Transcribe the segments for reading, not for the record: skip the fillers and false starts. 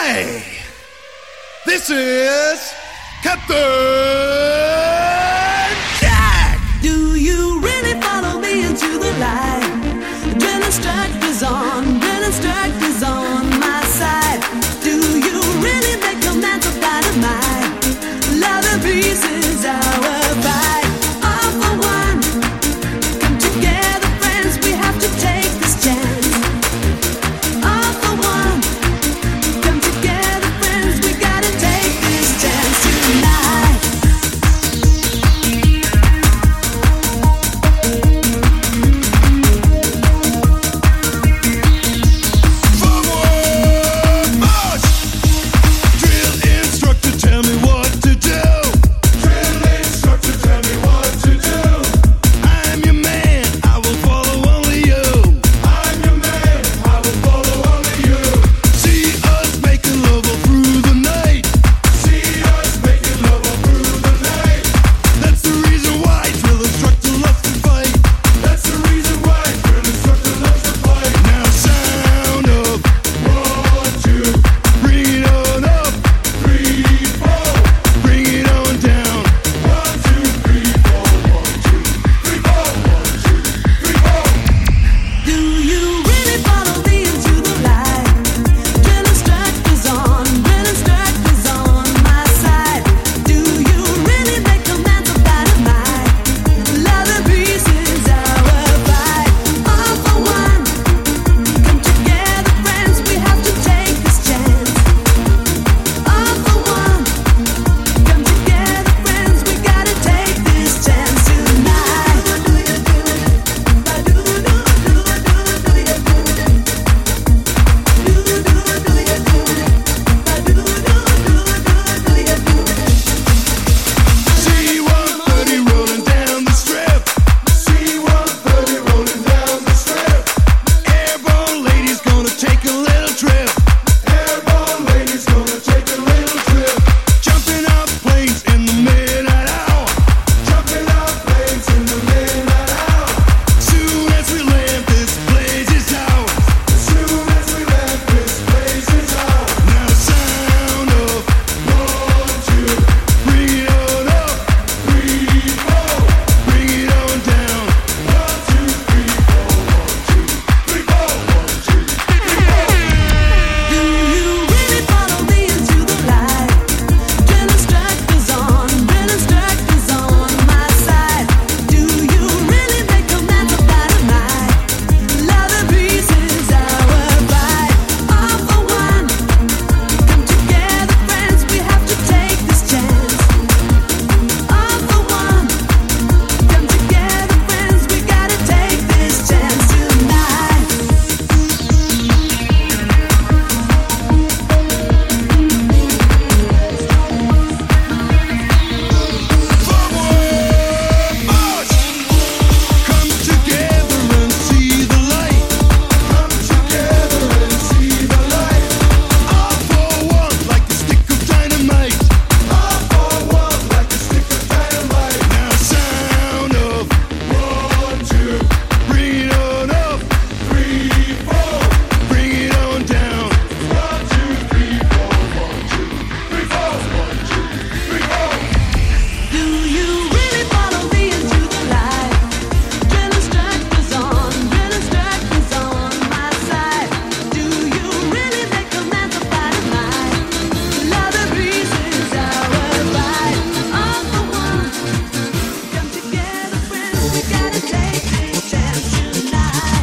This is Captain Jack! Do you really follow me into the light? Drilling strikers on my side. Do you really make a man so dynamite? Love and peace is our fight. All for one, come together friends, we have to take this chance. All for one, come together friends, we gotta take this chance tonight. Forward march! Drill instructor, tell me what to do. Drill instructor, tell me what to do. I'm your man, I will follow only you. I'm your man, I will follow only you. See us making love all through the night. See us making love all through the night. That's the reason why drill instructor loves to fight. That's the reason why drill instructor loves to fight. Now sound up, 1, 2, bring it on up, 3, 4, bring it on down. 1, 2, 3, 4, 1, 2, 3, 4, 1, 2, 3, 4. Do you really follow me into the light? Drilling strikers on my side. Do you really make a man so dynamite? Love and peace is our fight. All for one, come together friends, we have to take this chance. All for one, come together friends, we gotta take this chance tonight. C-130 rolling down the strip. C-130 rolling down the strip. Airborne ladies gonna take a little trip. Airborne ladies gonna take a little trip. Jumping off planes in the midnight hour. Jumping off planes in the midnight hour. Soon as we land, this place is ours. Soon as we land, this place is ours. Now sound up, 1, 2, bring it on up, 3, 4, bring it on down. 1, 2, 3, 4, 1, 2, 3, 4, 1, 2, 3, 4. Do you really follow me into the light? Drilling strikers on my side. Do you really make a man so dynamite? Love and peace is our fight. All for one, come together friends, we have to take this chance. All for one, come together friends, we gotta take this chance tonight. Forward march! Come together and see the light. Come together and see the light. All for one, like a stick of dynamite. All for one, like a stick of dynamite. Now sound up, 1, 2, bring it on up, 3, 4, bring it on down. 1, 2, 3, 4, 1, 2, 3, 4, 1, 2, 3, 4. Do you really follow me into the light? Drilling strikers on my side. Do you really make a man so dynamite? Love and peace is our fight. All for one, come together friends, we gotta take this chance tonight.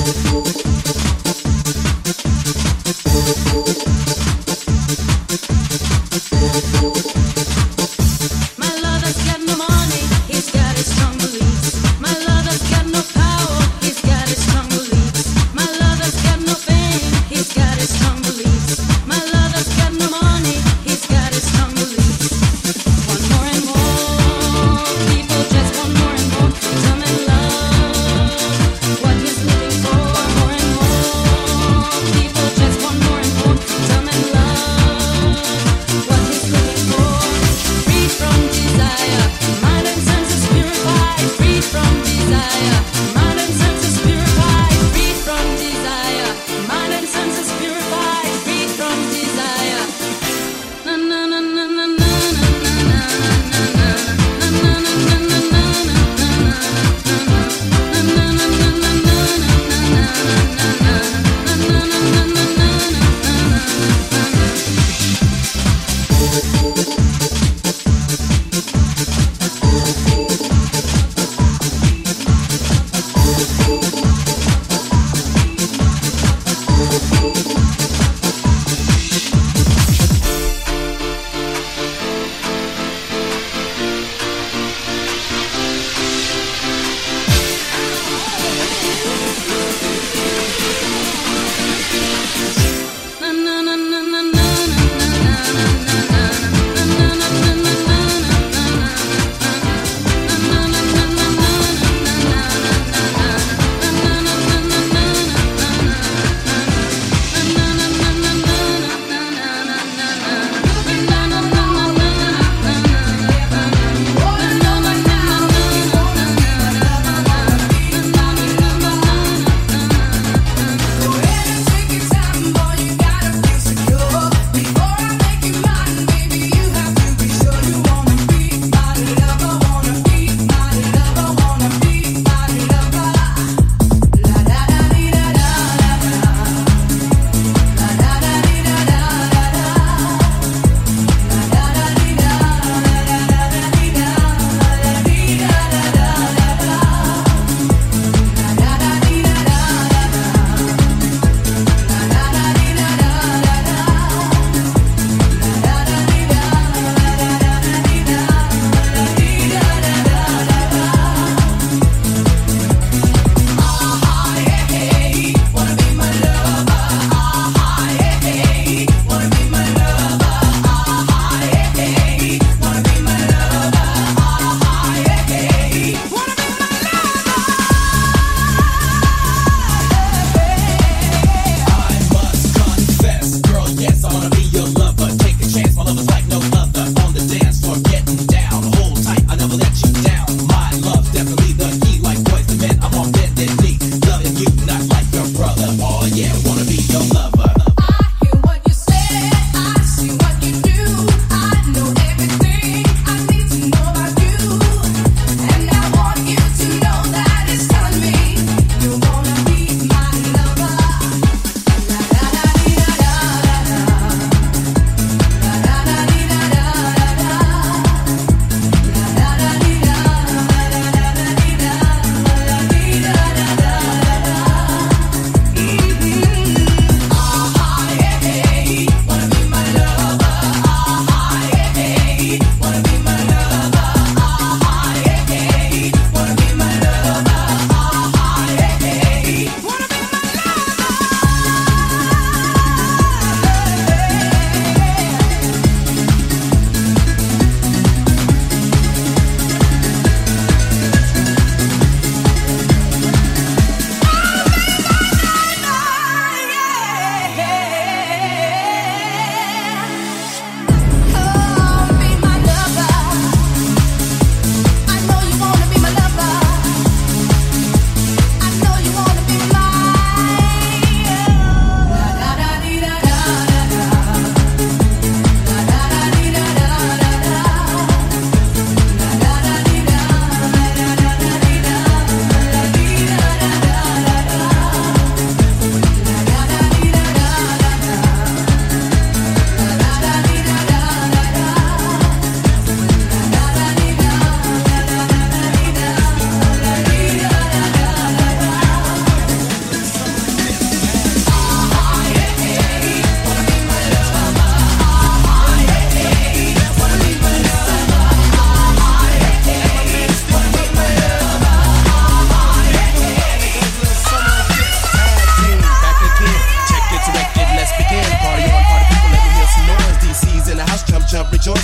My lover's got no money, he's got his strong beliefs. My lover's got no power, he's got his strong beliefs. My lover's got no fame, he's got his strong beliefs. My lover's got no money, he's got his strong beliefs. Want more and more, people just want more and more. Come and love what he's looking for. More and more, people just want more and more. Come and love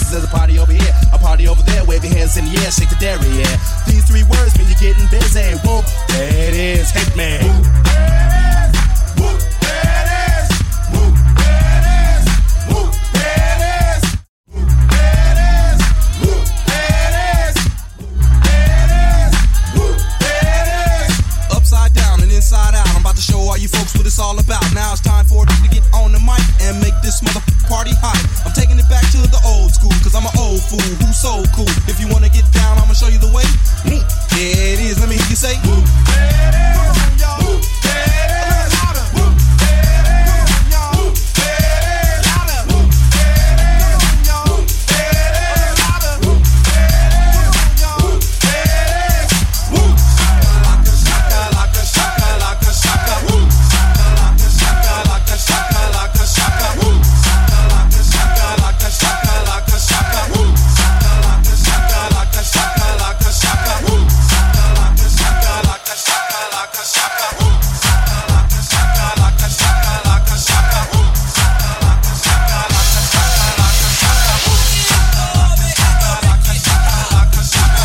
cause there's a party over here, a party over there. Wave your hands in the air, shake the dairy, yeah. These three words mean you're getting busy. Whoop, there it is, hit me. Whoop, there it is. Whoop, there it is. Whoop, there it is. Whoop, there it is. Whoop, there it is. Whoop, there it is. There it is. Whoop, there it is. Upside down and inside out, I'm about to show all you folks what it's all about. Now it's time for it to get on the mic and make this motherfucking party hot. I'm taking it back to the old school, cause I'm an old fool who's so cool. If you wanna get down, I'ma show you the way. There it is, let me hear you say. Whoop, there it is. Whoop, there it is. Whoop, there it is. Whoop, there it is. Whoop, there it is. Whoop, there it is. Whoop, there it is. Whoop, shaka, laka, shaka, laka, shaka. Whoop, shaka, laka, shaka, laka, shaka. Whoop, shaka, laka, shaka, laka, shaka. Whoop, shaka, laka, shaka, laka, shaka. Whoop, shaka, laka, shaka, laka, shaka. Whoop, shaka, laka, shaka, laka, shaka. Whoop, shaka, laka, shaka, laka, shaka. Whoop, shaka, laka, shaka, laka, shaka.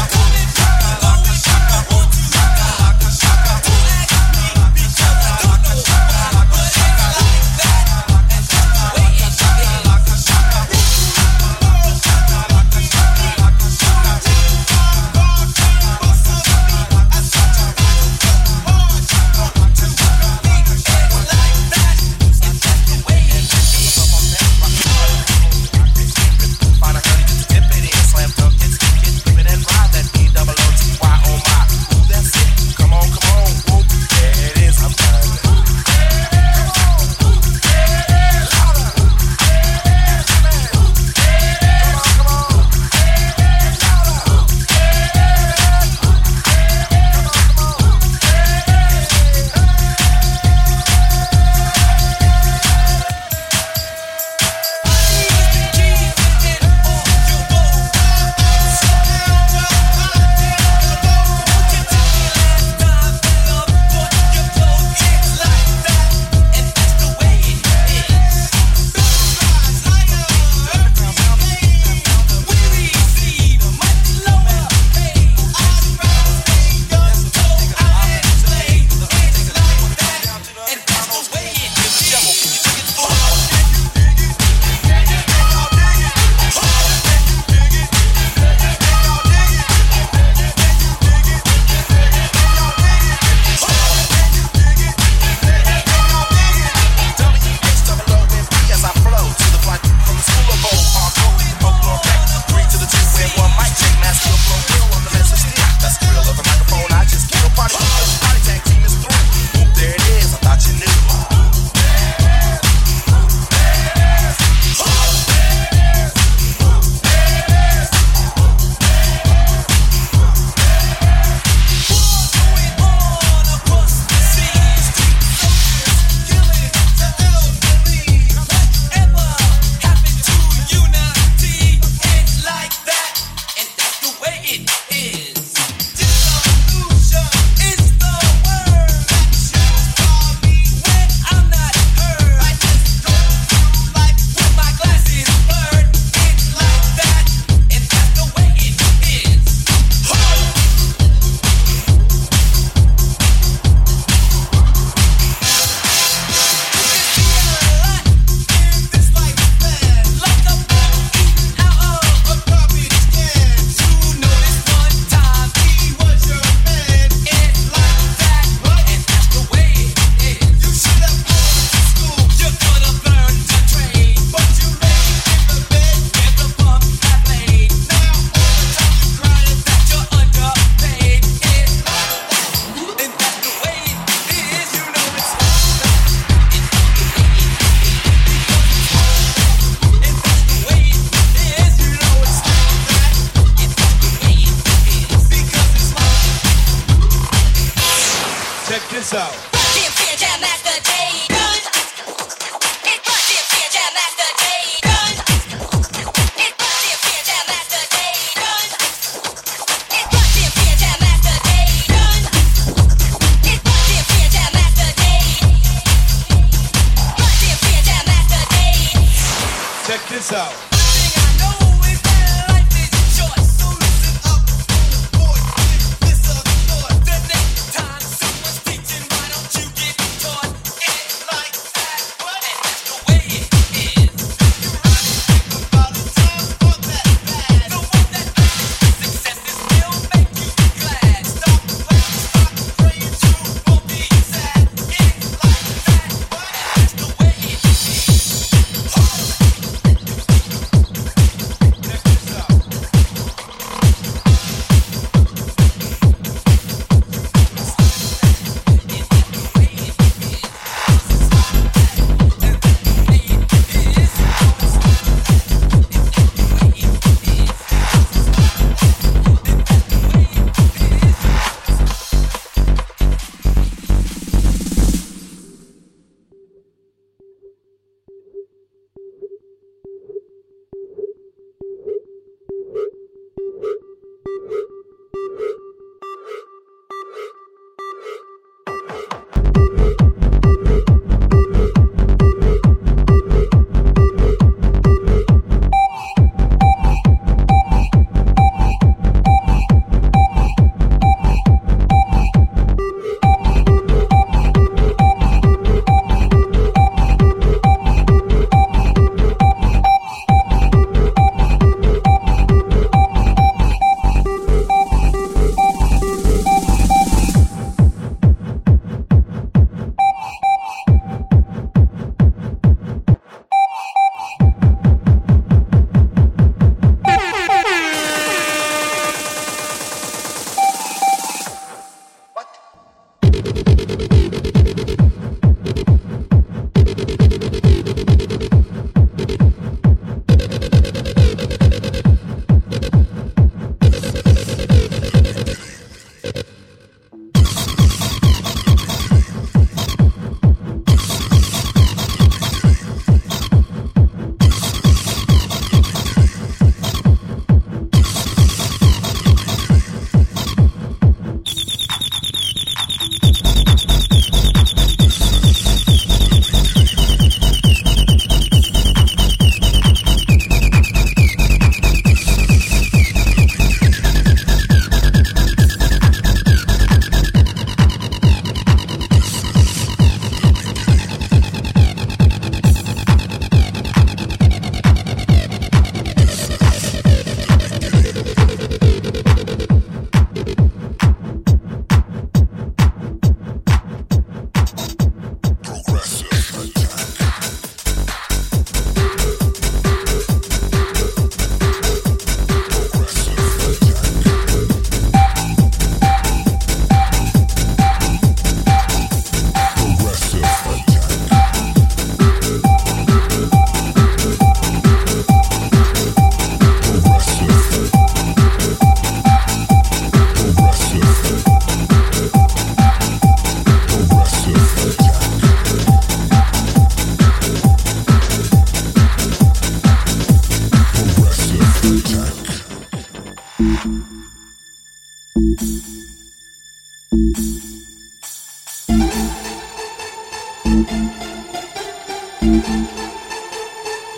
this out. Check this out.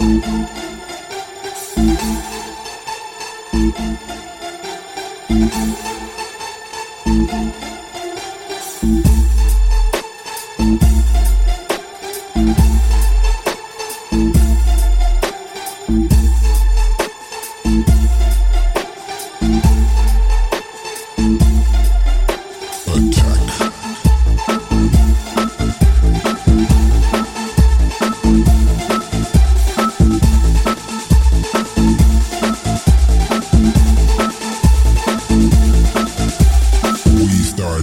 Start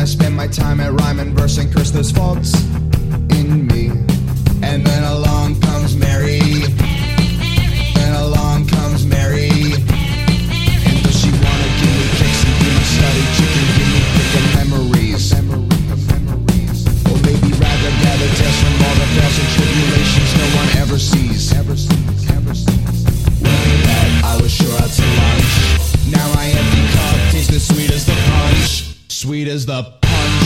I spend my time at rhyme and verse and curse those faults in me. And then along comes Mary. Then along comes Mary. And does she wanna give me kicks and be my study chicken? Give me bigger memories. Or maybe rather gather tales from all the fails and tribulations no one ever sees. I was sure out to lunch. Now my empty cup tastes as sweet as the punch. Sweet as the punch.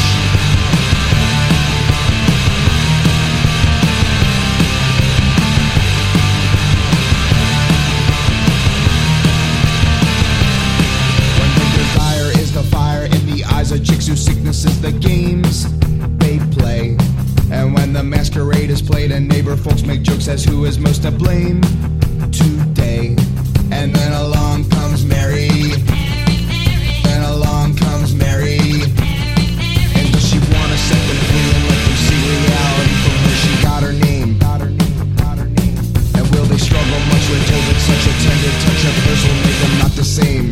When the desire is the fire in the eyes of chicks whose sickness is the games they play. And when the masquerade is played and neighbor folks make jokes as who is most to blame today. And then along comes Mary. Then along comes Mary. And does she wanna set them free and let them see reality from where she got her name? And will they struggle much when told that such a tender touch of hers will make them not the same?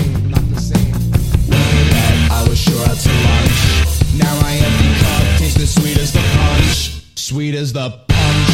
I was sure out to lunch. Now my empty cup tastes as sweet as the punch. Sweet as the punch.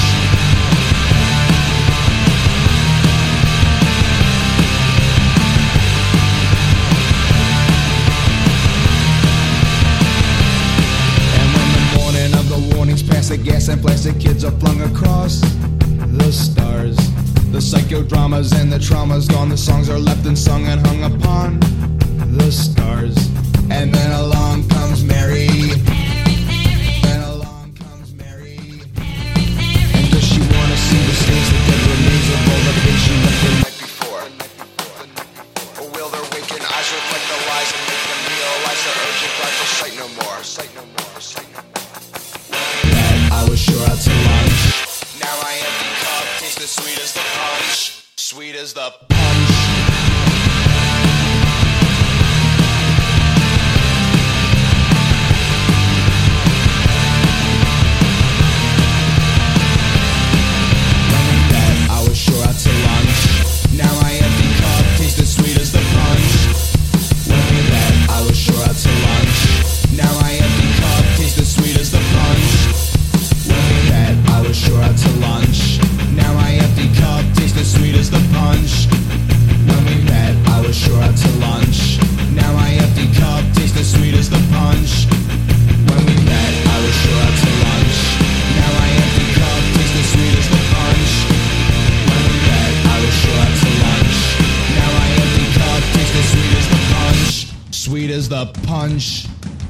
Plastic gas and plastic kids are flung across the stars. The psychodramas and the traumas gone. The songs are left unsung and hung upon the stars. And then along comes Mary. Then along comes Mary. And does she wanna see the stains that dead remains of all the things she left the night before? Or will their waking eyes reflect the lies and make them realize the urgent drive for sight no more? I was sure out to lunch. Now my empty cup tastes as sweet as the punch. Sweet as the punch. I was sure out to lunch. Now my empty cup tastes as sweet as the punch. I was sure out to lunch. Now my empty cup tastes as sweet as the punch. I was sure out to lunch. Now my empty cup tastes as sweet as the punch. When we met, I was sure out to lunch. Now my empty cup tastes as sweet as the punch. When we met, I was sure out to lunch. Now my empty cup tastes as sweet as the punch. When we met, I was sure out to lunch. Now my empty cup tastes as sweet as the punch. Sweet as the punch.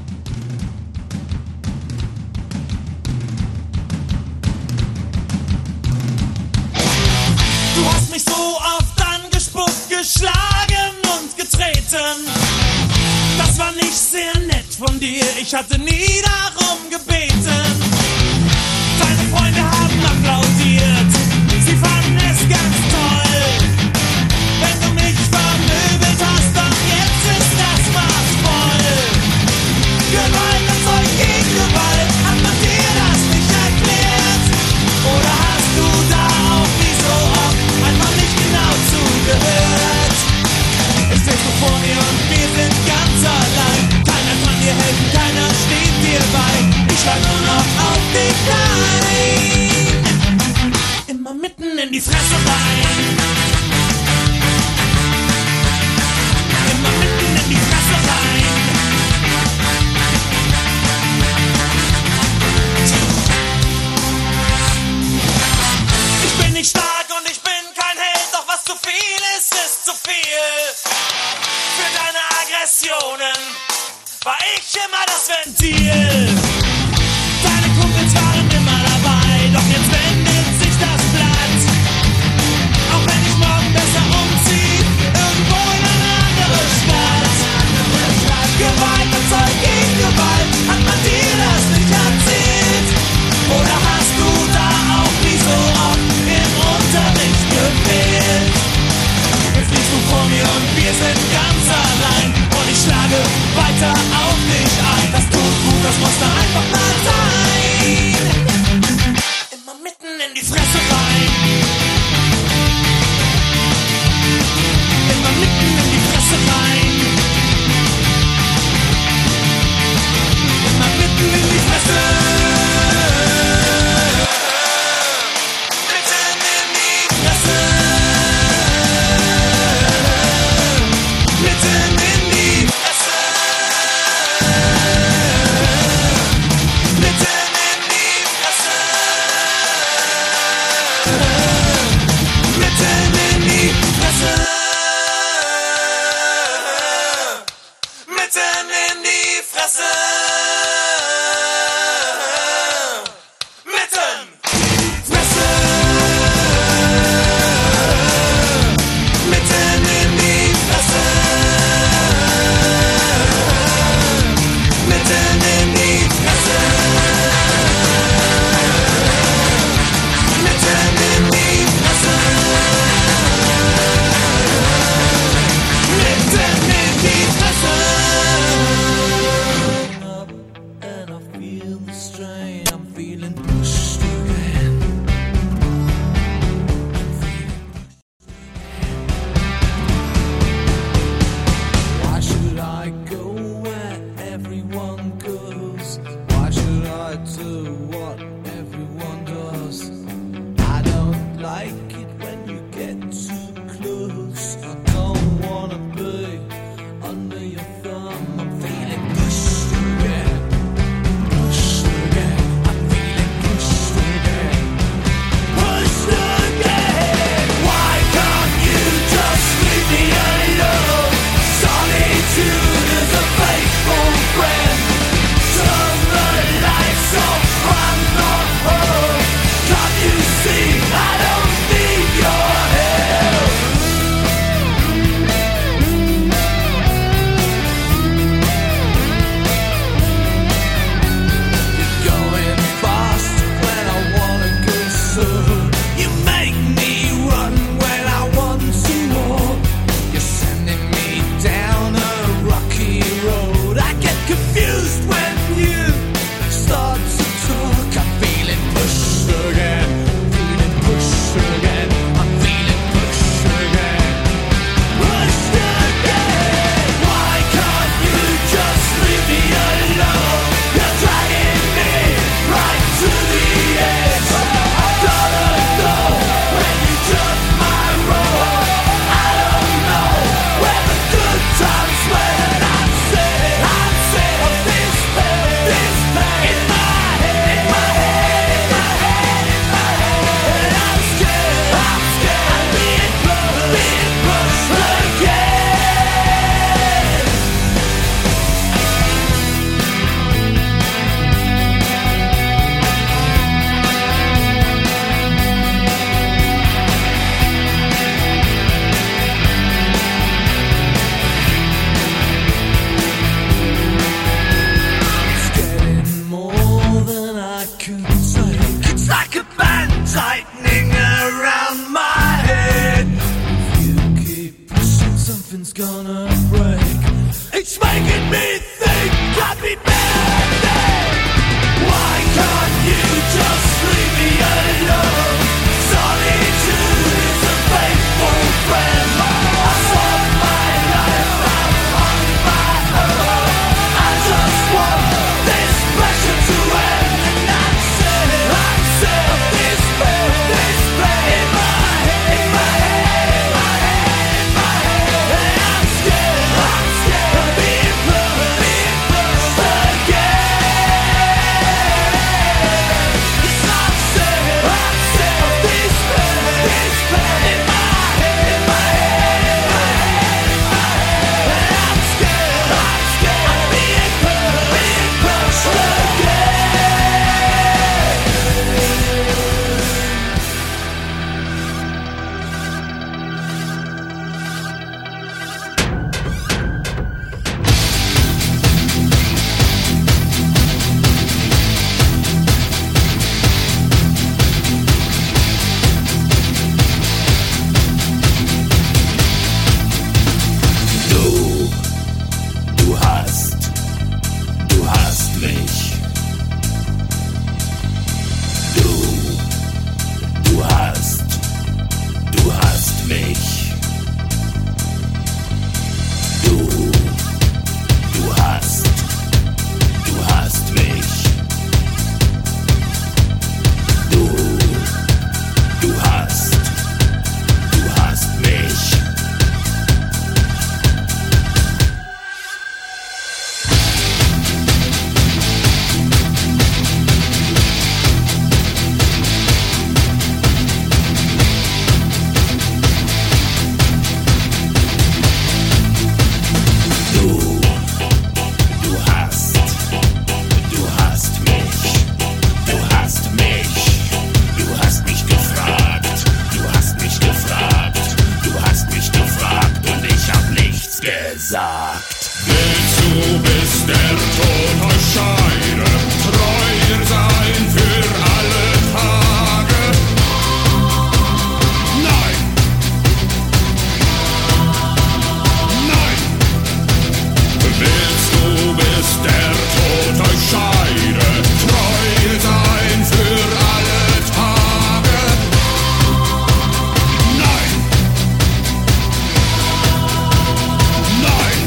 Du hast mich so oft angespuckt, geschlagen und getreten. Das war nicht sehr nett von dir, ich hatte nie darum gebeten. Deine Freunde haben applaudiert, sie fanden es ganz toll. Wenn du mich vermöbelt hast, doch jetzt ist das Maß voll. Gewalt erzeugt gegen Gewalt, hat man dir das nicht erklärt? Oder hast du da auch wie so oft einfach nicht genau zugehört? Jetzt stehst du vor mir und wir sind ganz allein. Keiner kann dir helfen, keiner steht dir bei. Ich schlag nur noch auf dich ein. Immer mitten in die Fresse rein. Immer mitten in die Fresse rein. Ich bin nicht stark und ich bin kein Held, doch was zu viel ist, ist zu viel. Für deine Aggressionen war ich immer das Ventil. Deine Kumpels waren immer dabei, doch jetzt wendet sich das Blatt. Auch wenn ich morgen besser umziehe, irgendwo in eine andere Stadt. Gewalt erzeugt gegen Gewalt, hat man dir das nicht erzählt? Oder hast du da auch wie so oft im Unterricht gefehlt? Jetzt liegst du vor mir und wir sind ganz allein. Und ich schlage weiter auf dich ein. Das tut gut, das muss da einfach mal sein. Immer mitten in die Fresse rein. Immer mitten in die Fresse rein. It's making me think happy birthday. Why can't you just leave me alone? Solitude is a faithful friend. I swap my life out on my own. I just want this pressure to end, and I'm sick of this pain in my head, in my head, in my head, in my head. And I'm scared of being pushed again. Yes, I'm sick of this pain in my head, in my head, in my head, in my head. And I'm scared of being pushed again. Du hast mich. Du hast mich. Du hast mich. Du hast mich. Gesagt. Willst du, bis der Tod euch scheide, treu sein für alle Tage? Nein! Nein! Willst du, bis der Tod euch scheide, treu sein für alle Tage? Nein! Nein!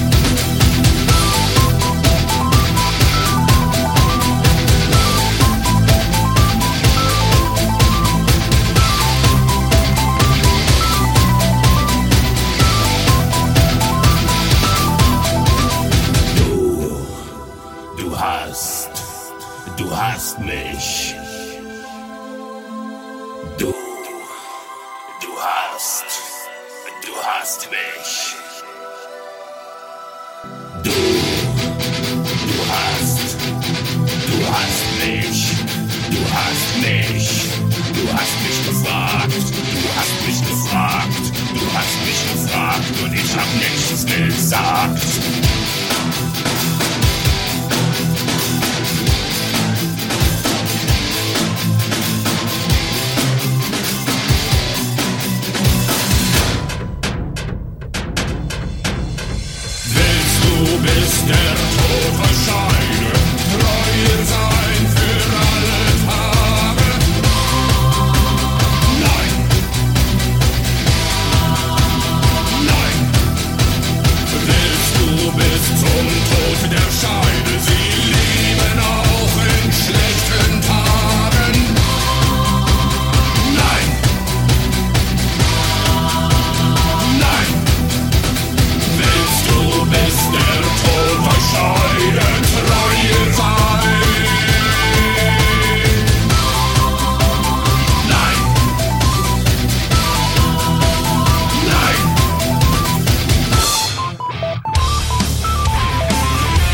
Du hast mich. Du hast mich. Du hast mich. Du hast mich. Du hast mich gefragt. Du hast mich gefragt. Du hast mich gefragt und ich hab nichts gesagt. Bis der Tod euch scheide, treu sein für alle Tage. Nein! Nein! Willst du bis zum Tod der Scheide sie lieben auch in schlechten Tagen? Nein! Nein! Willst du bis der Tod euch scheide, treu sein? Nein! Nein!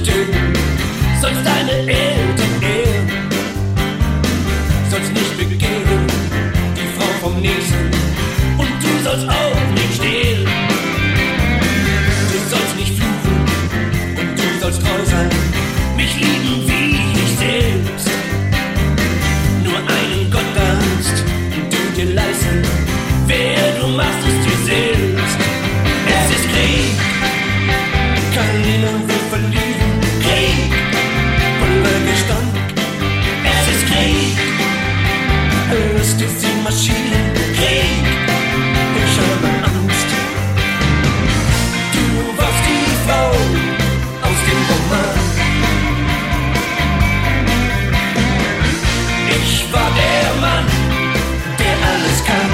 still. Sollst deine Eltern ehren, sollst nicht begehren, die Frau vom Nächsten. Und du sollst auch nicht stehlen. Du sollst nicht fluchen und du sollst treu sein, mich lieben wie ich selbst. Nur einen Gott kannst du dir leisten, wer du machst es dir selbst. Es ist Krieg, keiner will verlieren. Krieg, Pulvergestank. Es ist Krieg, hörst du sie marschieren? Krieg, ich habe Angst. Du warst die Frau aus dem Roman. Ich war der Mann, der alles kann.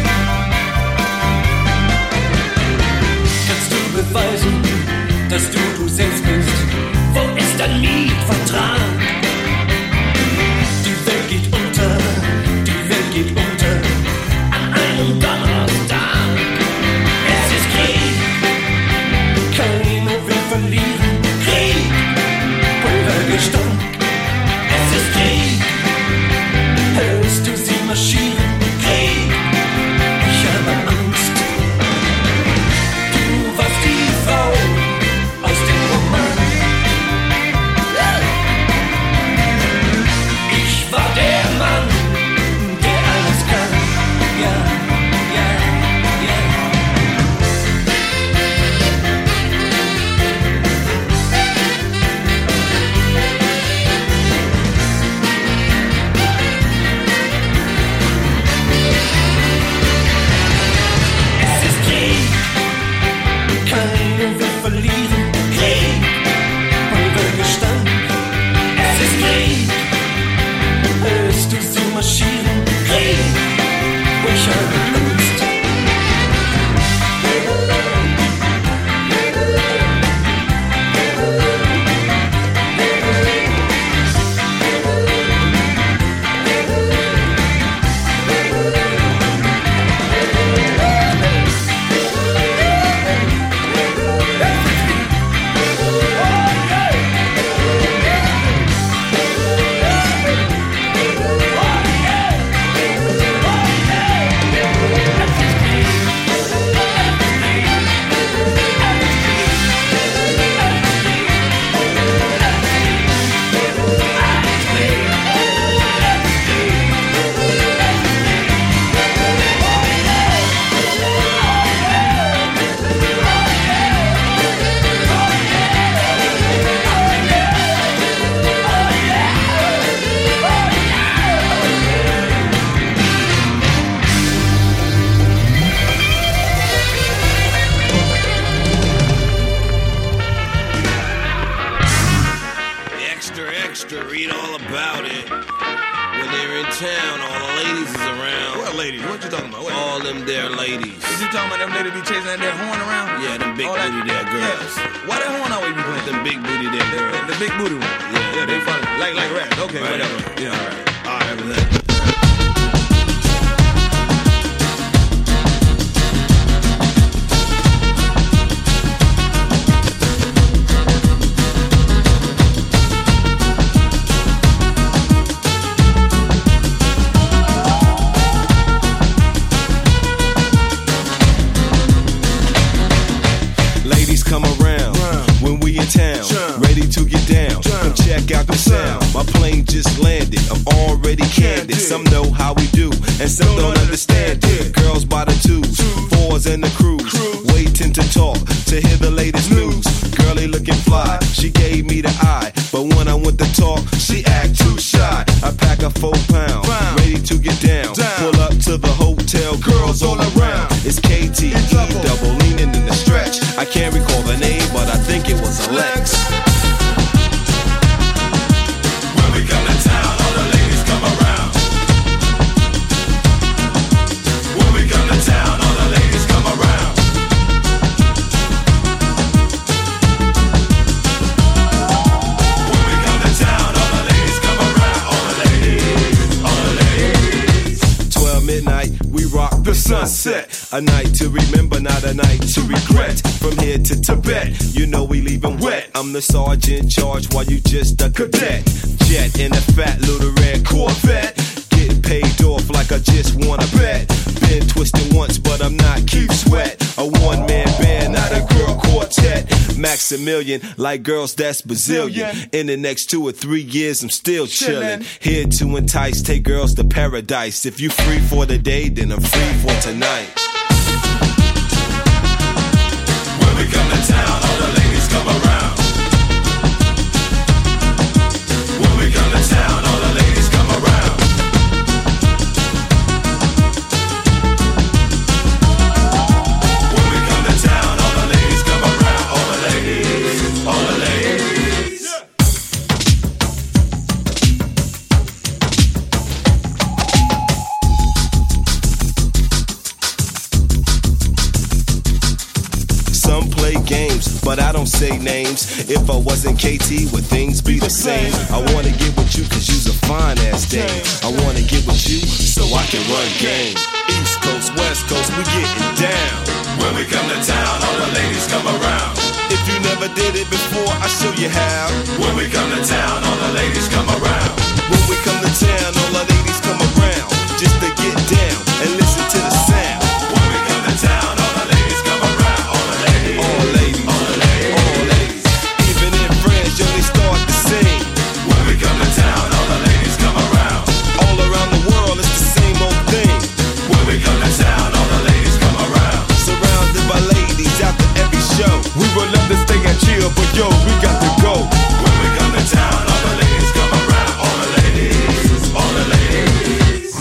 Kannst du beweisen, dass du selbst bist? Wo ist dein Mietvertrag? Die Welt geht unter, die Welt geht unter an einem Donnerstag. Es ist Krieg, keiner will verlieren. Krieg, Pulvergestank. Es ist Krieg, hörst du sie marschieren? Krieg, ich habe Angst. Du warst die Frau aus dem Roman. Ich war der Mann, der alles kann. Ja, ja, ja. Es ist Krieg, keiner will verlieren. Krieg, Pulvergestank. Es ist Krieg, hörst du sie marschieren? Krieg, ich habe Angst. Extra, extra, read all about it. When they're in town, all the ladies is around. What ladies? What you talking about? What? All them there ladies. You talking about them ladies be chasing that their horn around? Yeah, them big All that- booty there girls. Yeah. Why that horn always be playing? Them big booty there girls. The big booty one. Yeah, they funny. Like rats. Okay, Right. whatever. Yeah, all right. All right, everything. Ladies come around when we in town, ready to get down. Come check out the sound. My plane just landed. I'm already candid. Some know how we do, and some don't understand it. Girls by the twos, fours and the crews, waiting to talk to hear the latest news. Girlie looking fly, she gave me the eye, but when I went to talk, she act too shy. I pack a 4 pound, ready to get down. Pull up to the hotel, girls all around. It's KT, double leaning in the stretch. I can't recall the name, but I think it was Alex. When we come to town, all the ladies come around. When we come to town, all the ladies come around. When we come to town, all the ladies come around. All the ladies, all the ladies. 12 midnight, we rock the sunset. A night to remember, not a night to regret. From here to Tibet, you know we leaving wet. I'm the sergeant in charge while you just a cadet. Jet in a fat little red Corvette. Getting paid off like I just wanna bet. Been twisted once, but I'm not Keith Sweat. A one-man band, not a girl quartet. Maximilian, like girls, that's Bazillion. In the next 2 or 3 years, I'm still chillin'. Here to entice, take girls to paradise. If you free for the day, then I'm free for tonight. When we come to town, all the ladies come around. When we come to town, all the ladies come around. When we come to town, all the ladies come around. All the ladies, all the ladies. Some play games, but I don't say names. If I wasn't KT, would things be the same? I wanna get with you cause you's a fine ass dame. I wanna get with you so I can run game. East Coast, West Coast, we getting down. When we come to town, all the ladies come around. If you never did it before, I'll show you how. When we come to town, all the ladies come around. When we come to town, all the ladies come around. Just to get down and listen to the sound. When we come to town, all the ladies come around. All the ladies, all ladies, all ladies, all ladies. Even in France, yo, they start to sing. When we come to town, all the ladies come around. All around the world, it's the same old thing. When we come to town, all the ladies come around. Surrounded by ladies after every show. We would love to stay and chill, but yo, we got to go. When we come to town, all the ladies come around. All the ladies, all the ladies.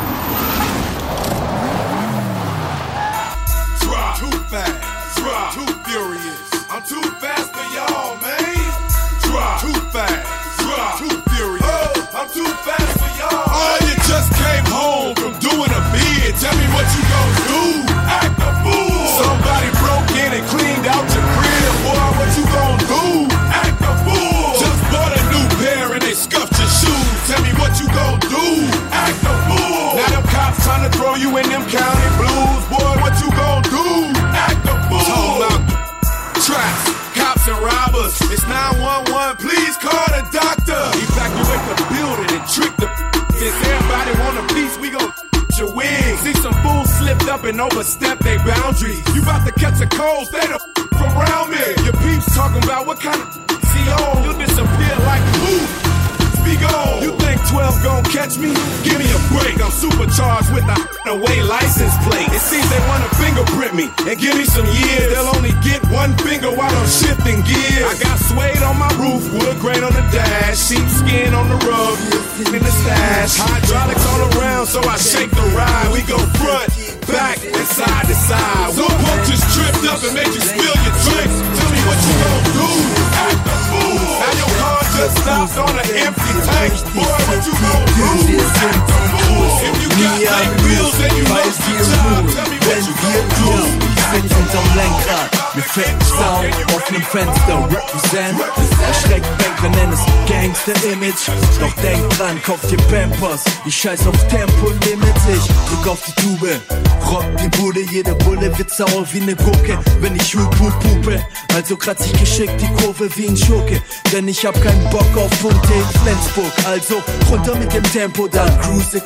Drop, too fast, drop, too furious. I'm too fast for y'all, man. Drop, too fast, drop, too furious. Oh, I'm too fast for y'all. Oh, you just came home from doing a bid. Tell me what you gon' do. Act a fool. Somebody broke in and cleaned out your crib. Boy, what you gon' do? Act a fool. Just bought a new pair and they scuffed your shoes. Tell me what you gon' do. Act a fool. Now them cops trying to throw you in them county blues. Boy, what you gon' do? Act a fool. Talking about traps, cops and robbers. It's 911, please call the doctor. Evacuate the building and trick the Since everybody want a piece, we gon' your wig. See some fools slipped up and overstepped their boundaries. You about to catch a cold, stay the from around me. Your peeps talking about what kind of CO. You'll disappear like poof. Speak on. You think 12 gon' catch me? Give me a break. I'm supercharged with the away license plate. It seems they wanna fingerprint me and give me some years. They'll only get one finger while I'm shifting gears. I got suede on my roof, wood grain on the dash, sheepskin on the rug, in the stash. Hydraulics all around, so I shake the ride. We go front, back, and side to side. Some punk just tripped up and made you spill your drinks. Tell me what you gon' do. Act the fool. Now your car just stopped on an empty tank. Boy, what you gon' do? Act the fool. If you got bank bills, then you lost your job. Tell me what you gon' do. Sitz unterm Lenkrad, mir fällt Sound auf nem Fenster, represent. Erschreckt Banker, nenn es Gangster-Image. Doch denk dran, kauf dir Pampers, ich scheiß auf Tempo-Limit. Ich drück auf die Tube, rock die Bude, jede Bulle wird sauer wie ne Gurke, wenn ich hupe. Also kratz ich geschickt die Kurve wie ein Schurke, denn ich hab keinen Bock auf Punkte in Flensburg. Also runter mit dem Tempo, dann cruise.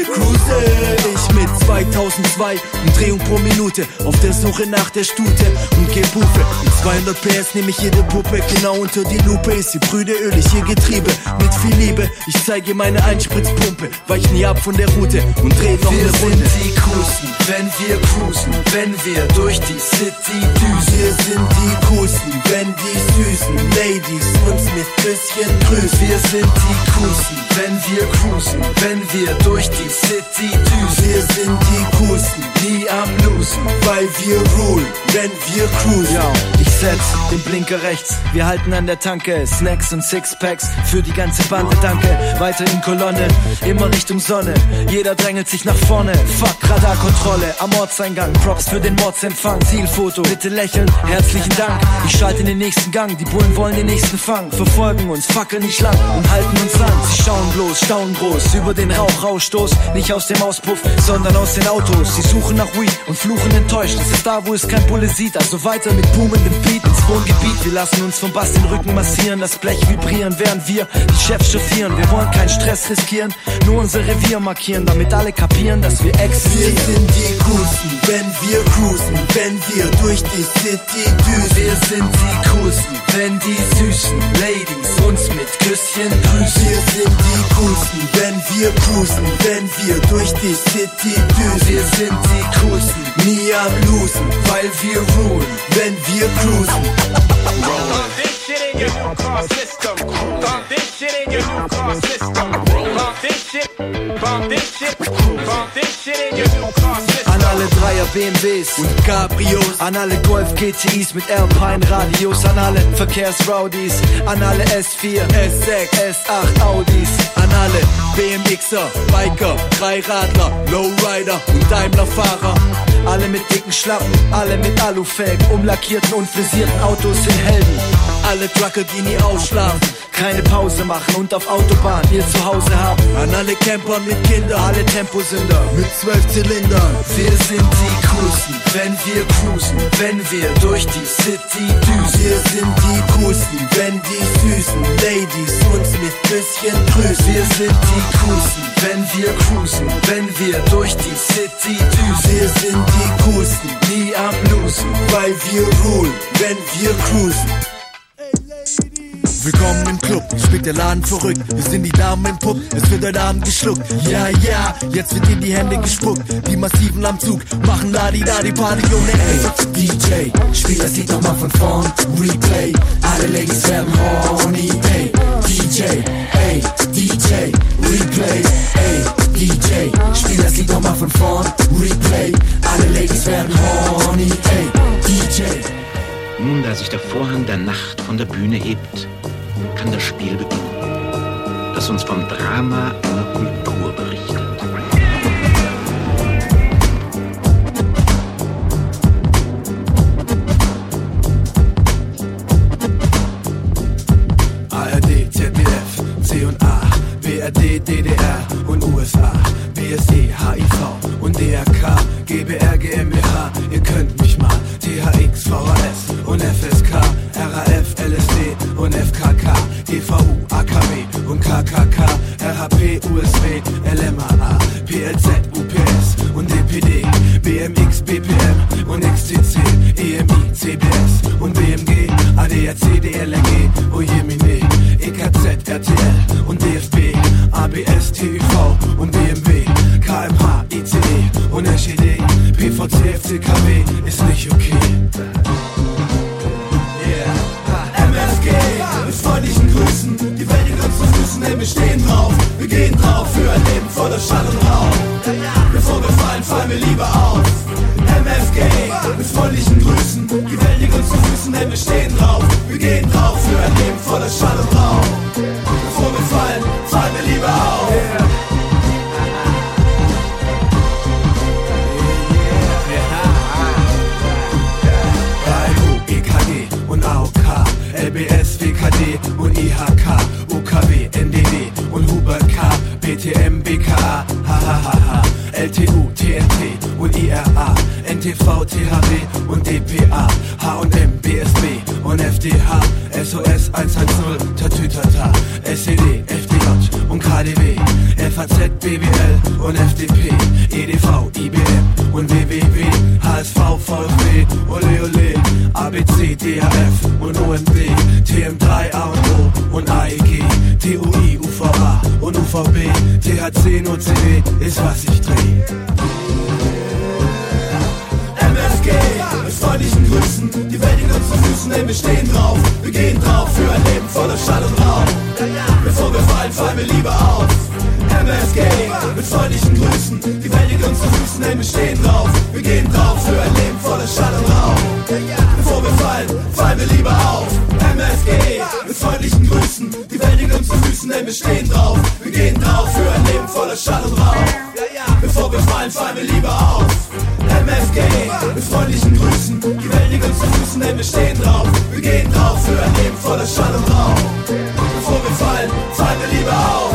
Ich mit 2002, Umdrehung pro Minute, auf der Suche nach der Stute und geb Hufe. Mit 200 PS nehm ich jede Puppe, genau unter die Lupe ist sie brüdeölig, ihr Getriebe mit viel Liebe. Ich zeige meine Einspritzpumpe, weich nie ab von der Route und dreh noch eine Runde. Wir sind die Coolsten, wenn wir cruisen, wenn wir durch die City düsen. Wir sind die Coolsten, wenn die süßen Ladies uns mit bisschen grüßen. Wir sind die Coolsten, wenn wir cruisen, wenn wir durch die City düsen. Wir sind die Coolsten, nie am Losen, weil wir rulen, wenn wir cruisen. Ja, ich setz den Blinker rechts, wir halten an der Tanke, Snacks und Sixpacks für die ganze Bande, danke. Weiter in Kolonne, immer Richtung Sonne, jeder drängelt sich nach vorne. Fuck, Radarkontrolle am Ortseingang, Props für den Mordsempfang, Zielfoto, bitte lächeln, herzlichen Dank. Ich schalte in den nächsten Gang, die Bullen wollen den nächsten fangen, verfolgen uns, fackeln nicht lang und halten uns an. Sie schauen bloß, staunen groß, über den Rauchausstoß, nicht aus dem Auspuff, sondern aus den Autos. Sie suchen nach Weed und fluchen enttäuscht, das ist da, wo es kein Bulle sieht, also weiter mit boomendem Beat ins Wohngebiet. Wir lassen uns vom Bass den Rücken massieren, das Blech vibrieren, während wir die Chefs chauffieren. Wir wollen keinen Stress riskieren, nur unser Revier markieren, damit alle kapieren, dass wir existieren. Wir sind die Coolsten, wenn wir cruisen, wenn wir durch die City düsen. Wir sind die Coolsten, wenn die süßen Ladies uns mit Küsschen grüßen. Wir sind die Coolsten, wenn wir cruisen, wenn wir durch die City düsen. Wir sind die Coolsten, nie am Losen, weil wir ruhen, wenn wir cruisen. Pump this shit in your new car system. Pump this shit in your new car system. Pump this shit, pump this shit, pump this shit in your new car system. An alle Dreier BMWs und Cabrios, an alle Golf GTIs mit Alpine Radios, an alle Verkehrsrowdies, an alle S4, S6, S8 Audis, an alle BMXer, Biker, Dreiradler, Lowrider und Daimlerfahrer. Alle mit dicken Schlappen, alle mit Alufelgen, umlackierten und frisierten Autos sind Helden. Alle Trucker, die nie ausschlafen, keine Pause machen und auf Autobahn ihr Zuhause haben. An alle Camper mit Kindern, alle Temposünder mit 12 Zylindern. Wir sind die Coolsten, wenn wir cruisen, wenn wir durch die City düsen. Wir sind die Coolsten, wenn die süßen Ladies uns mit Küsschen grüßen. Wir sind die Coolsten, wenn wir cruisen, wenn wir durch die City düsen. Wir sind die Coolsten, nie am Losen, weil wir ruhen, wenn wir cruisen. Willkommen im Club, spielt der Laden verrückt. Wir sind die Damen im Pub, es wird heute Abend geschluckt. Ja, ja, jetzt wird in die Hände gespuckt. Die Massiven am Zug machen Ladi-Dadi Party ohne Ende. DJ, spiel das Lied nochmal von vorn. Replay, alle Ladies werden horny. Ey, DJ, ey, DJ, Replay. Ey, DJ, spiel das Lied nochmal von vorn. Replay, alle Ladies werden horny. Ey, DJ. Nun, da sich der Vorhang der Nacht von der Bühne hebt, kann das Spiel beginnen, das uns vom Drama einer Kultur berichtet. ARD, ZDF, C&A, BRD, DDR und USA, BSE, HIV und DRK, GBR, GmbH, ihr könnt mich mal, THX, VHS und FSK, RAF, LSD und FKK, EVU, AKW und KKK, RHP, USW, LMAA, PLZ, UPS und DPD, BMX, BPM und XTC, EMI, CBS und BMG, ADAC, DLRG, Ojemine, EKZ, RTL und DFB, ABS, TÜV und BMW, KMH, ICE und SED, PVC, FCKW, ist nicht okay. MFG, mit freundlichen Grüßen, die Welt liegt uns zu Füßen, denn wir stehen drauf, wir gehen drauf für ein Leben voller Schall und Rauch. Bevor wir fallen, fallen wir lieber auf. MFG, mit freundlichen Grüßen, die Welt liegt uns zu Füßen, denn wir stehen drauf, wir gehen drauf für ein Leben voller Schall und Rauch. Bevor wir fallen, fallen wir lieber auf. Und AOK, LBS, WKD und IHK, UKW, NDD und Huber K, BTM, BKA, HHHH, LTU, TNT und IRA, NTV, THW und DPA, H&M, BSB und FDH, SOS 110, Tatütata, SED, FDJ und KDW, FAZ, BWL und FDP, EDV, IBM und WWW, HSV, VfB, Ole Ole, ABC, DHF und OMD, TM3, A&O und AEG, TUI, UVA und UVB, THC, NOCD ist was ich dreh. MFG, mit freundlichen Grüßen, die Welt liegt uns zu Füßen, denn wir stehen drauf, wir gehen drauf für ein Leben voller Schall und Rauch. Bevor wir fallen, fallen wir lieber auf. MFG, mit freundlichen Grüßen, die Welt liegt uns zu Füßen, denn wir stehen drauf, wir gehen drauf für ein Leben voller Schall und Rauch. Bevor wir fallen, fallen wir lieber auf. MFG, mit freundlichen Grüßen, die Welt liegt uns zu Füßen, denn wir stehen drauf, wir gehen drauf für ein Leben voller Schall und Rauch. Bevor wir fallen, fallen wir lieber auf. MFG, mit freundlichen Grüßen, die Welt liegt uns zu Füßen, denn wir stehen drauf, wir gehen drauf für ein Leben voller Schall und Rauch. Bevor wir fallen, fallen wir lieber auf.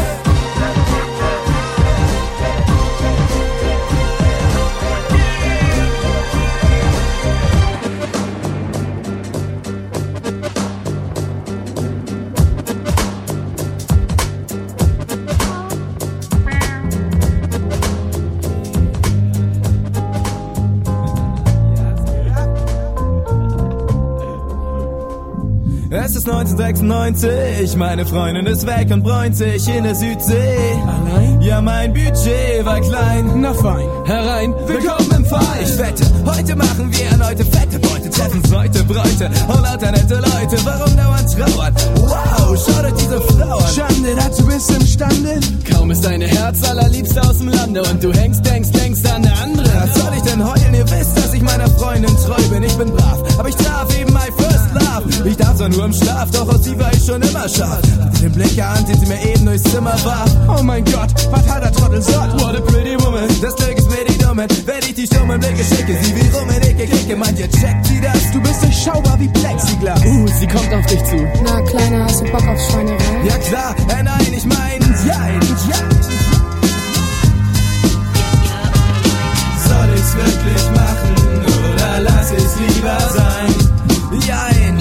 1996, meine Freundin ist weg und bräunt sich in der Südsee. Allein? Ja, mein Budget war klein. Na fein, herein, willkommen im Fall. Ich wette, heute machen wir erneute fette Beute, treffen heute Bräute und lauter nette Leute. Warum dauernd trauern? Wow, schau dir diese Frau an. Schande, dazu bist du imstande. Kaum ist deine Herz allerliebste aus dem Lande und du hängst, denkst an eine andere. Was soll ich denn heulen? Ihr wisst, dass ich meiner Freundin treu bin. Ich bin brav, aber ich traf eben my first love. Ich darf zwar nur im Schlaf, doch aus sie war ich schon immer scharf. Hatte den Blick an, den sie mir eben durchs Zimmer warf. Oh mein Gott, was hat der Trottel sagt? What a pretty woman. Das Glück ist mir die Dumme, wenn ich die stummen Blicke schicke. Sie wie rum in Ecke kicke, meint ihr, checkt sie das? Du bist durchschaubar wie Plexiglas. Sie kommt auf dich zu. Na, Kleiner, hast du Bock auf Schweinerei? Ja klar, nein, ich mein, ja. Soll ich's wirklich machen oder lass ich's lieber sein? Jein.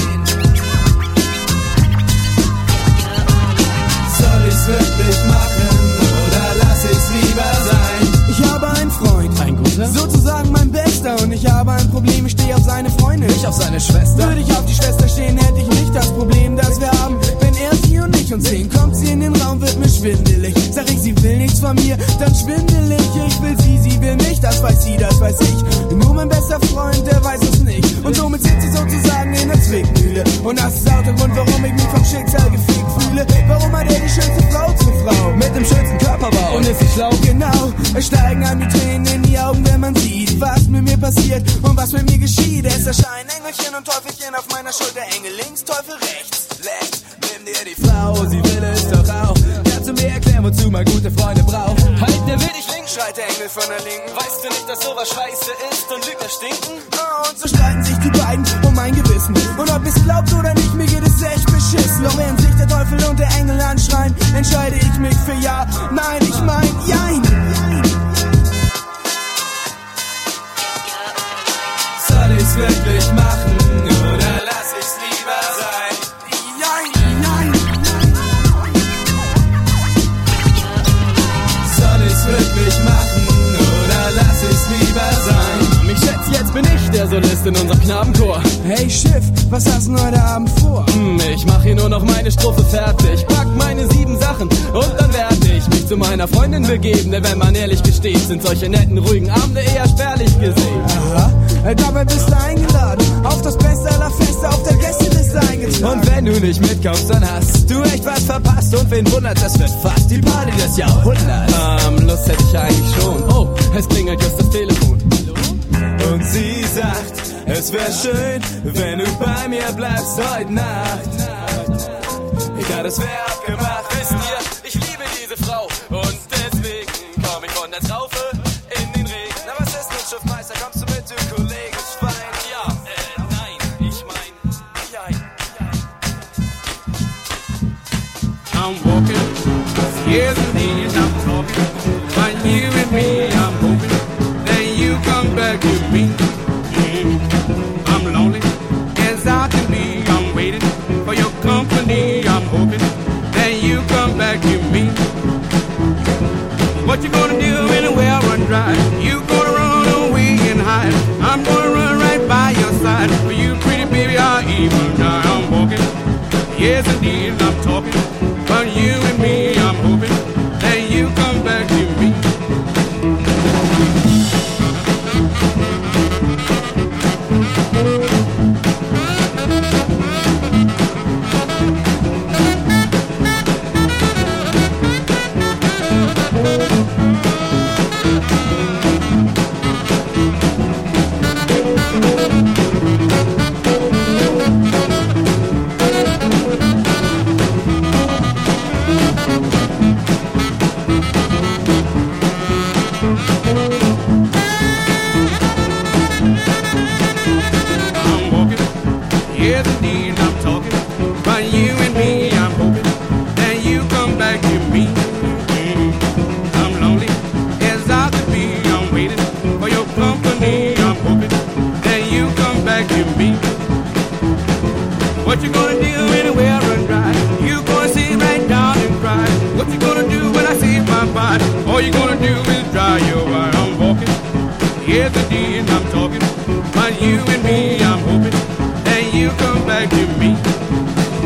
Soll ich's wirklich machen oder lass ich's lieber sein? Ich habe einen Freund, ein guter, sozusagen mein Bester. Und ich habe ein Problem, ich stehe auf seine Freundin, nicht auf seine Schwester. Würde ich auf die Schwester stehen, hätte ich nicht das Problem, das wir haben. Wenn er sie und ich uns sehen, kommt sie in den Raum, wird mir schwindelig. Sag ich, sie will nichts von mir, dann schwindelig. Ich will sie will mich, das weiß sie, das weiß ich. Nur mein bester Freund, der weiß es nicht. Und somit sitzt sie sozusagen in der Zwickmühle. Und das ist auch der Grund, warum ich mich vom Schicksal gefickt fühle. Warum hat er die schönste Frau zur Frau? Mit dem schönsten Körperbau. Und ist sie schlau? Genau. Es steigen an die Tränen in die Augen, wenn man sieht, was mit mir passiert und was mit mir geschieht. Es erscheinen Engelchen und Teufelchen auf meiner Schulter. Engel links, Teufel rechts. Nimm dir die Frau, sie will es doch auch. Kannst du mir erklären, wozu man gute Freunde braucht? Halt, der will dich links, schreit der Engel von der Linken. Weißt du nicht, dass sowas scheiße ist und Lügner stinken? Oh, und so streiten sich die beiden um mein Gewissen. Und ob es glaubt oder nicht, mir geht es echt beschissen. Doch während sich der Teufel und der Engel anschreien, entscheide ich mich für ja. Nein, ich mein, jein. Soll ich's wirklich machen oder lass ich's lieber sein? Jein. Soll ich's wirklich machen oder lass ich's lieber sein? Ich schätze, jetzt bin ich der Solist in unserem Knabenchor. Hey Schiff, was hast du heute Abend vor? Ich mach hier nur noch meine Strophe fertig, pack meine 7 Sachen und dann werde ich mich zu meiner Freundin begeben. Denn wenn man ehrlich gesteht, sind solche netten, ruhigen Abende eher spärlich gesehen. Aha, dabei bist du eingeladen, auf das Beste aller Feste, auf der Gästeliste eingetragen. Und wenn du nicht mitkommst, dann hast du echt was verpasst. Und wen wundert, das wird fast die Party des Jahrhunderts. Lust hätte ich eigentlich schon. Oh, es klingelt just das Telefon. Und sie sagt, es wär schön, wenn du bei mir bleibst heute Nacht. Ja, das wär abgemacht. Wisst ihr, ich liebe diese Frau und deswegen komm ich von der Traufe in den Regen. Na, was ist nun, Schiffmeister, kommst du mit, du Kollege Schwein? Ja, nein, ich mein, jein. I'm walking, yes indeed, I'm talking. But you and me, I'm hoping that you come back to me. I'm lonely as I can be. I'm waiting for your company. I'm hoping that you come back to me. What you gonna do anywhere I run dry? You gonna run away and hide? I'm gonna run right by your side. For you, pretty baby, I'll even die. I'm walking, yes indeed, I'm talking. But you and me, I'm hoping that you come back to me. What you gonna do anywhere I run dry? You gonna sit right down and cry? What you gonna do when I see my body? All you gonna do is dry your eye. I'm walking, yes indeed, I'm talking. But you and me, I'm hoping that you come back to me.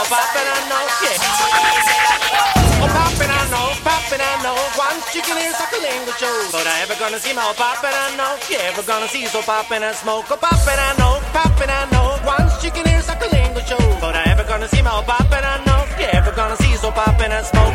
poppin', I know, yeah. Oh, poppin', I know, one chicken ears like a lingo show. But I ever gonna see my poppin', I know, yeah, ever gonna see so poppin' and smoke. Oh, poppin', I know, one chicken ears like a lingo show. But I ever gonna see my poppin', I know, yeah, ever gonna see so poppin' and smoke.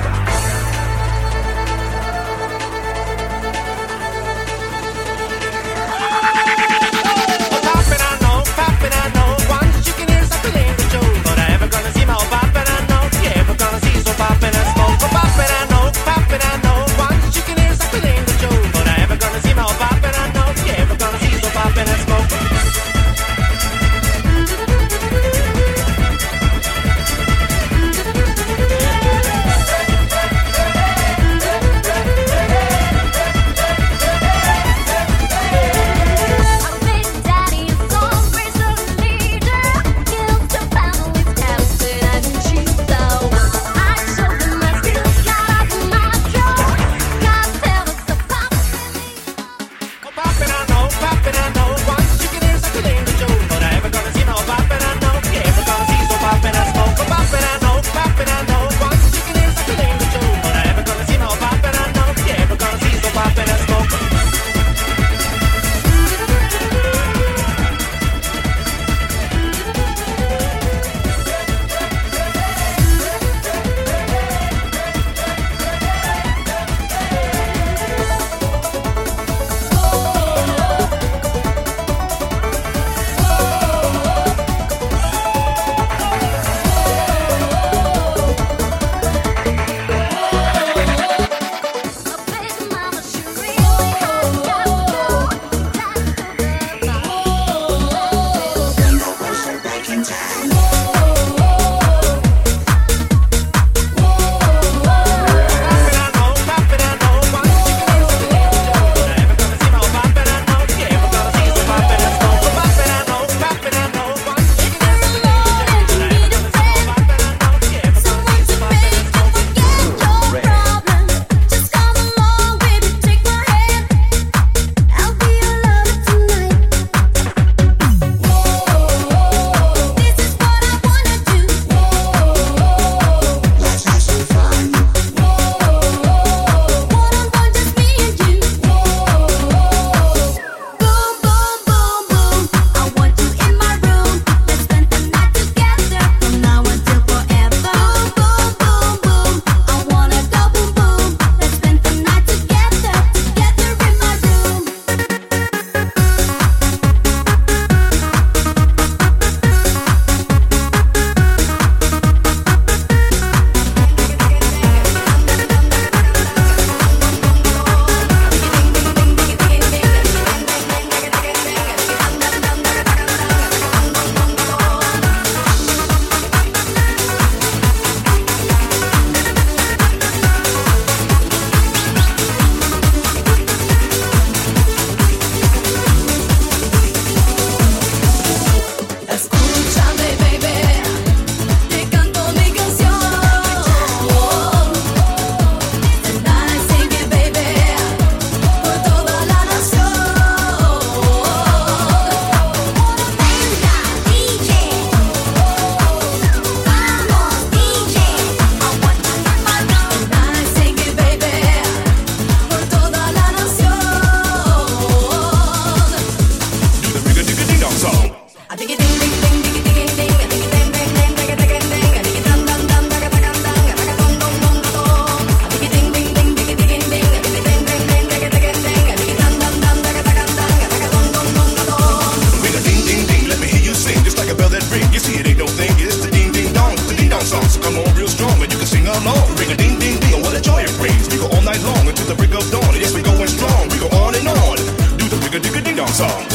song.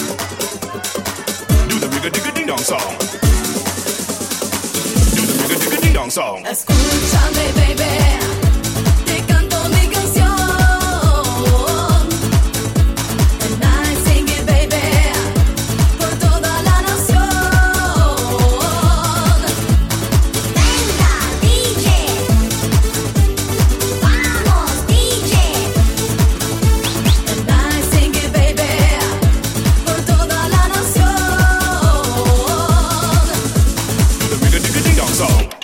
Do the rigga-digga-ding-dong song. Do the rigga-digga-ding-dong song. Escúchame, baby. Te canto mi canción. And I sing it, baby. Por toda la nación. Venga, DJ. Vamos, DJ. And I sing it, baby. Por toda la nación. Do the rigga-digga-ding-dong song.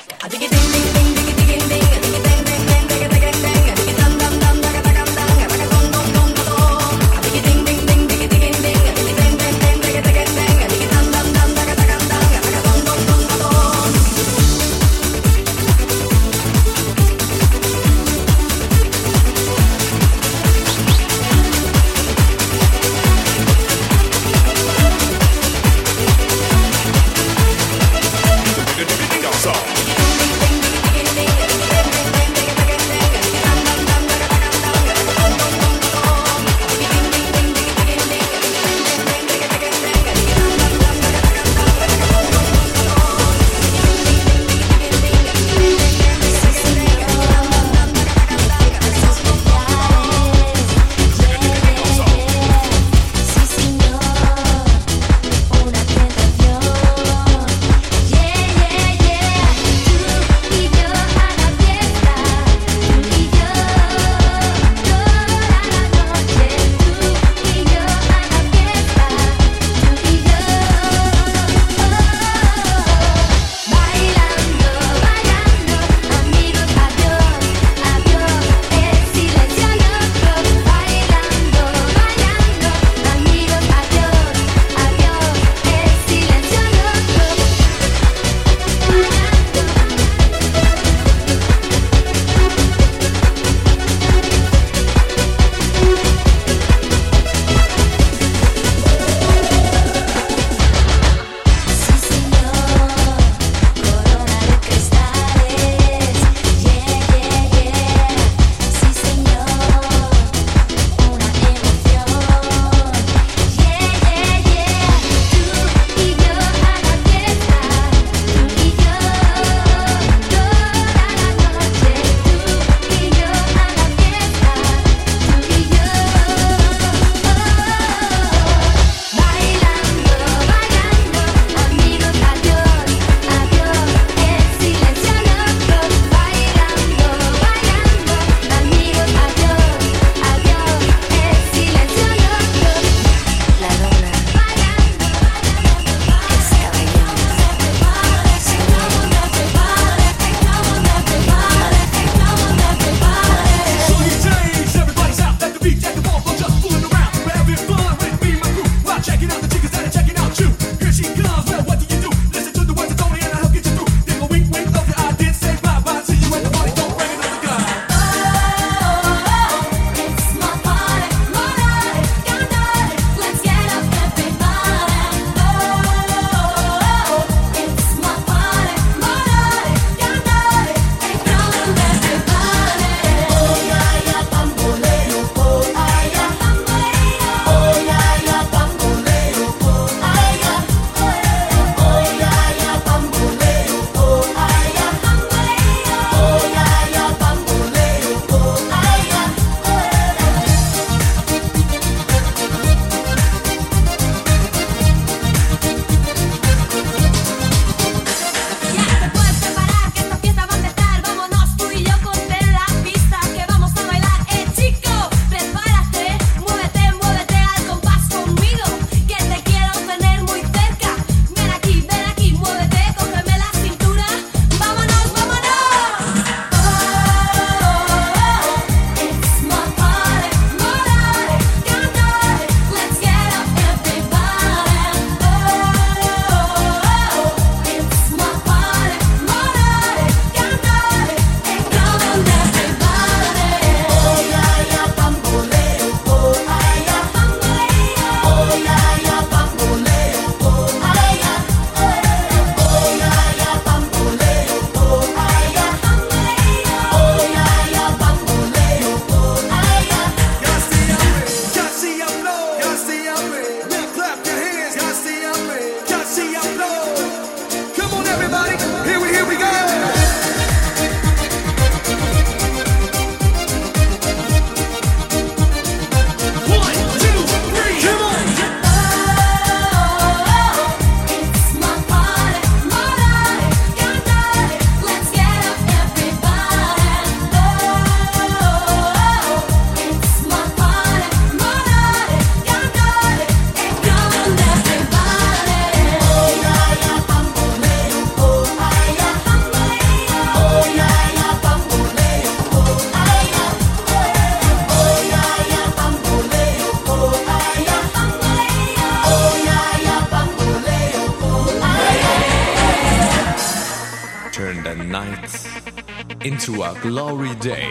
into a glory day.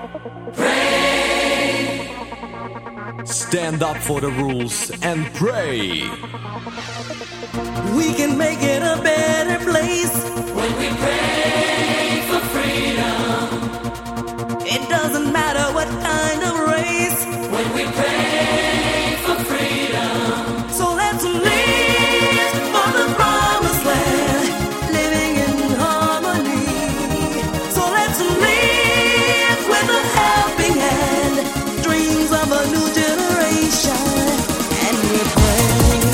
Stand up for the rules and pray. We can make it a better place when we pray for freedom. It doesn't matter what kind of race when we pray for freedom. So let's live for the promised land, living in harmony. So let's live with a helping hand, dreams of a new generation, and we pray.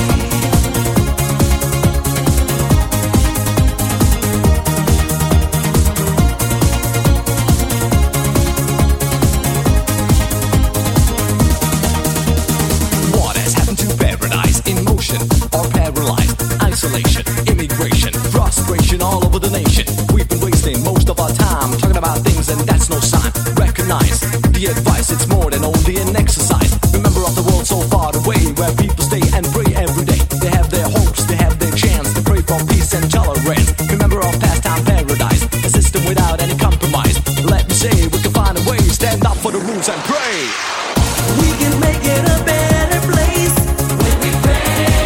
Or paralyzed, isolation, immigration, frustration all over the nation. We've been wasting most of our time talking about things and that's no sign. Recognize the advice, it's more than only an exercise. Remember of the world so far away where people stay and pray every day. They have their hopes, they have their chance to pray for peace and tolerance. Remember of pastime paradise, a system without any compromise. Let me say we can find a way, stand up for the rules and pray. We can make it a better place when we pray.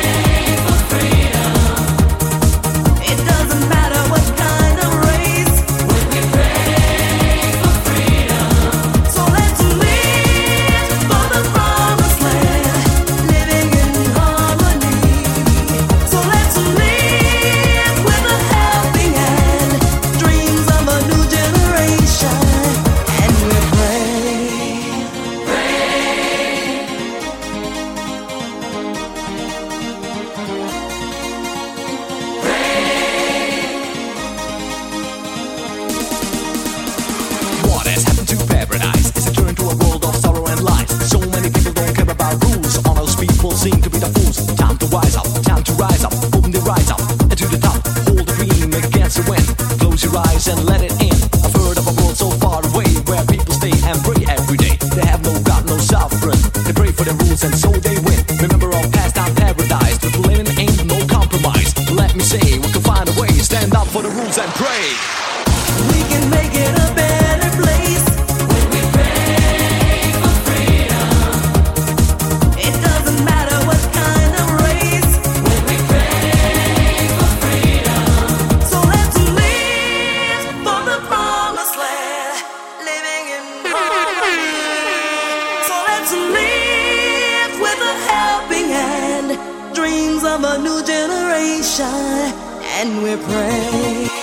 Seem to be the fools. Time to rise up, open the rise up, and to the top, hold the dream against the wind. Close your eyes and let it in. I've heard of a world so far away where people stay and pray every day. They have no God, no sovereign. They pray for the rules and so they win. Remember our pastime paradise, but living ain't no compromise. Let me say, we can find a way. Stand up for the rules and pray. We can make it a better place when we pray for freedom. It doesn't matter what kind of race when we pray for freedom. So let's live for the promised land, living in harmony. So let's live with a helping hand, dreams of a new generation, and we pray.